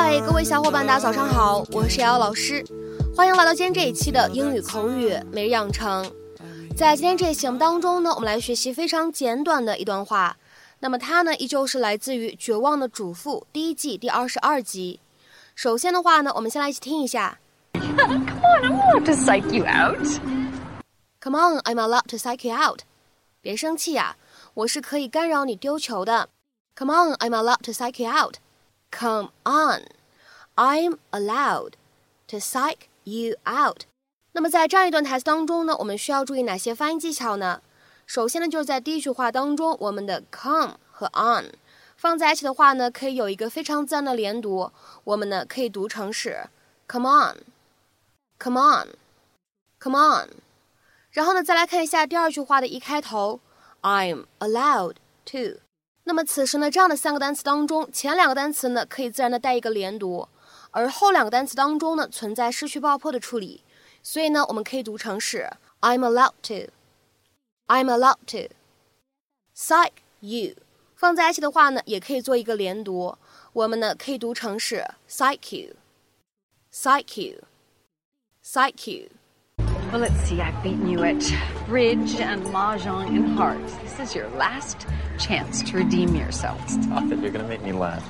嗨，各位小伙伴，大家早上好，我是瑶瑶老师，欢迎来到今天这一期的英语口语每日养成。在今天这一期节目当中呢，我们来学习非常简短的一段话。那么它呢，依旧是来自于《绝望的主妇》第一季第22集。首先的话呢，我们先来一起听一下。 Come on, I'm allowed to psych you out. Come on, I'm allowed to psych you out. 别生气呀，我是可以干扰你丢球的。Come on, I'm allowed to psych you out. Come on, I'm allowed to psych you out. 那么在这样一段台词当中呢，我们需要注意哪些发音技巧呢？首先呢，就是在第一句话当中，我们的 come 和 on 放在一起的话呢，可以有一个非常自然的连读，我们呢可以读成是 come on, come on, come on。然后呢，再来看一下第二句话的一开头 I'm allowed to。那么此时呢，这样的三个单词当中，前两个单词呢可以自然的带一个连读，而后两个单词当中呢存在失去爆破的处理，所以呢我们可以读成是 I'm allowed to, I'm allowed to psych you。放在一起的话呢，也可以做一个连读，我们呢可以读成是 psych you, psych you, psych you。Well, let's see, I've beaten you at bridge and mahjong and hearts. This is your last chance to redeem yourself. Stop it, you're going to make me laugh.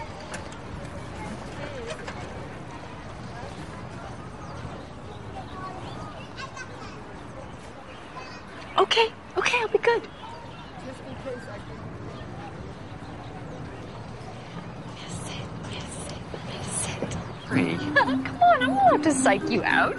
Okay, I'll be good. Just in case I can... Yes, sit. Free. Come on, I'm allowed to psych you out.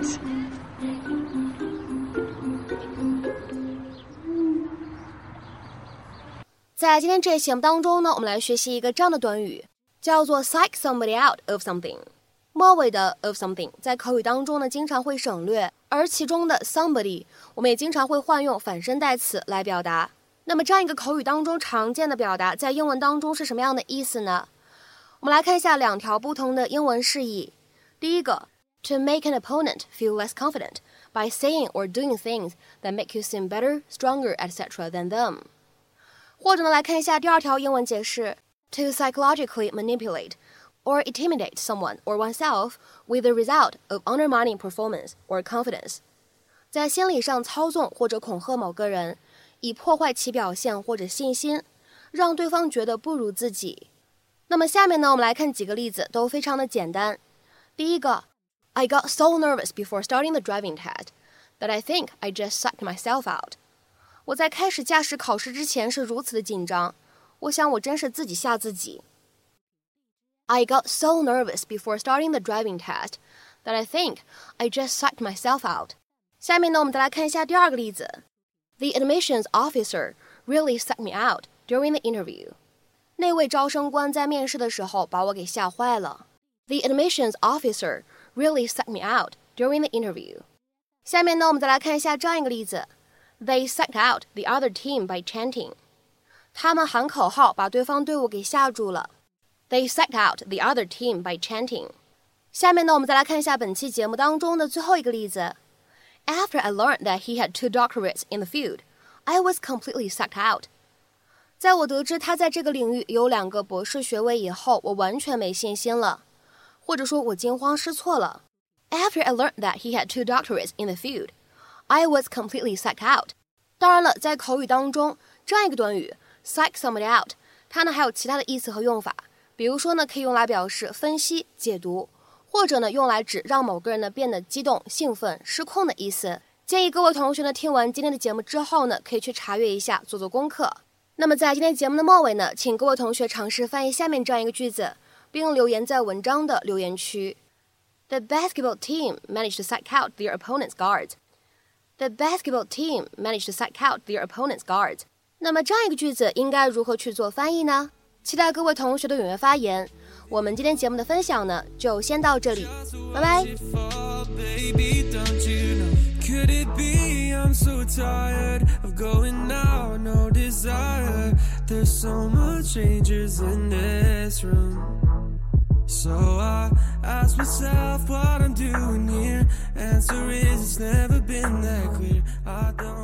在今天这一期节目当中呢，我们来学习一个这样的短语，叫做 psych somebody out of something。末尾的 of something 在口语当中呢经常会省略，而其中的 somebody 我们也经常会换用反身代词来表达。那么这样一个口语当中常见的表达，在英文当中是什么样的意思呢？我们来看一下两条不同的英文释义。第一个 to make an opponent feel less confident by saying or doing things that make you seem better, stronger, etc. than them。或者呢，来看一下第二条英文解释 to psychologically manipulate or intimidate someone or oneself with the result of undermining performance or confidence。 在心理上操纵或者恐吓某个人，以破坏其表现或者信心，让对方觉得不如自己。那么下面呢，我们来看几个例子，都非常的简单。第一个 I got so nervous before starting the driving test that I think I just psyched myself out。我在开始驾驶考试之前是如此的紧张，我想我真是自己吓自己。I got so nervous before starting the driving test that I think I just psyched myself out。 下面呢，我们再来看一下第二个例子。The admissions officer really psyched me out during the interview。 那位招生官在面试的时候把我给吓坏了。The admissions officer really psyched me out during the interview。 下面呢，我们再来看一下这样一个例子。They psyched out the other team by chanting。 他们喊口号把对方队伍给吓住了。They psyched out the other team by chanting。 下面呢，我们再来看一下本期节目当中的最后一个例子。After I learned that he had 2 doctorates in the field, I was completely psyched out。 在我得知他在这个领域有2个博士学位以后，我完全没信心了，或者说我惊慌失措了。After I learned that he had 2 doctorates in the field, I was completely psyched out。 当然了，在口语当中，这样一个短语 psych somebody out， 它呢还有其他的意思和用法，比如说呢，可以用来表示分析、解读，或者呢用来指让某个人呢变得激动、兴奋、失控的意思。建议各位同学呢听完今天的节目之后呢，可以去查阅一下，做做功课。那么在今天节目的末尾呢，请各位同学尝试翻译下面这样一个句子，并留言在文章的留言区。The basketball team managed to psych out their opponent's guards. The basketball team managed to psych out their opponent's guards. 那么这样一个句子应该如何去做翻译呢？期待各位同学的踊跃发言。我们今天节目的分享呢，就先到这里，拜拜。Could it be I'm so tired of going out, no desire. There's so much strangers in this room. So I ask myself what I'm doing here. Answer is it's never been that clear. I don't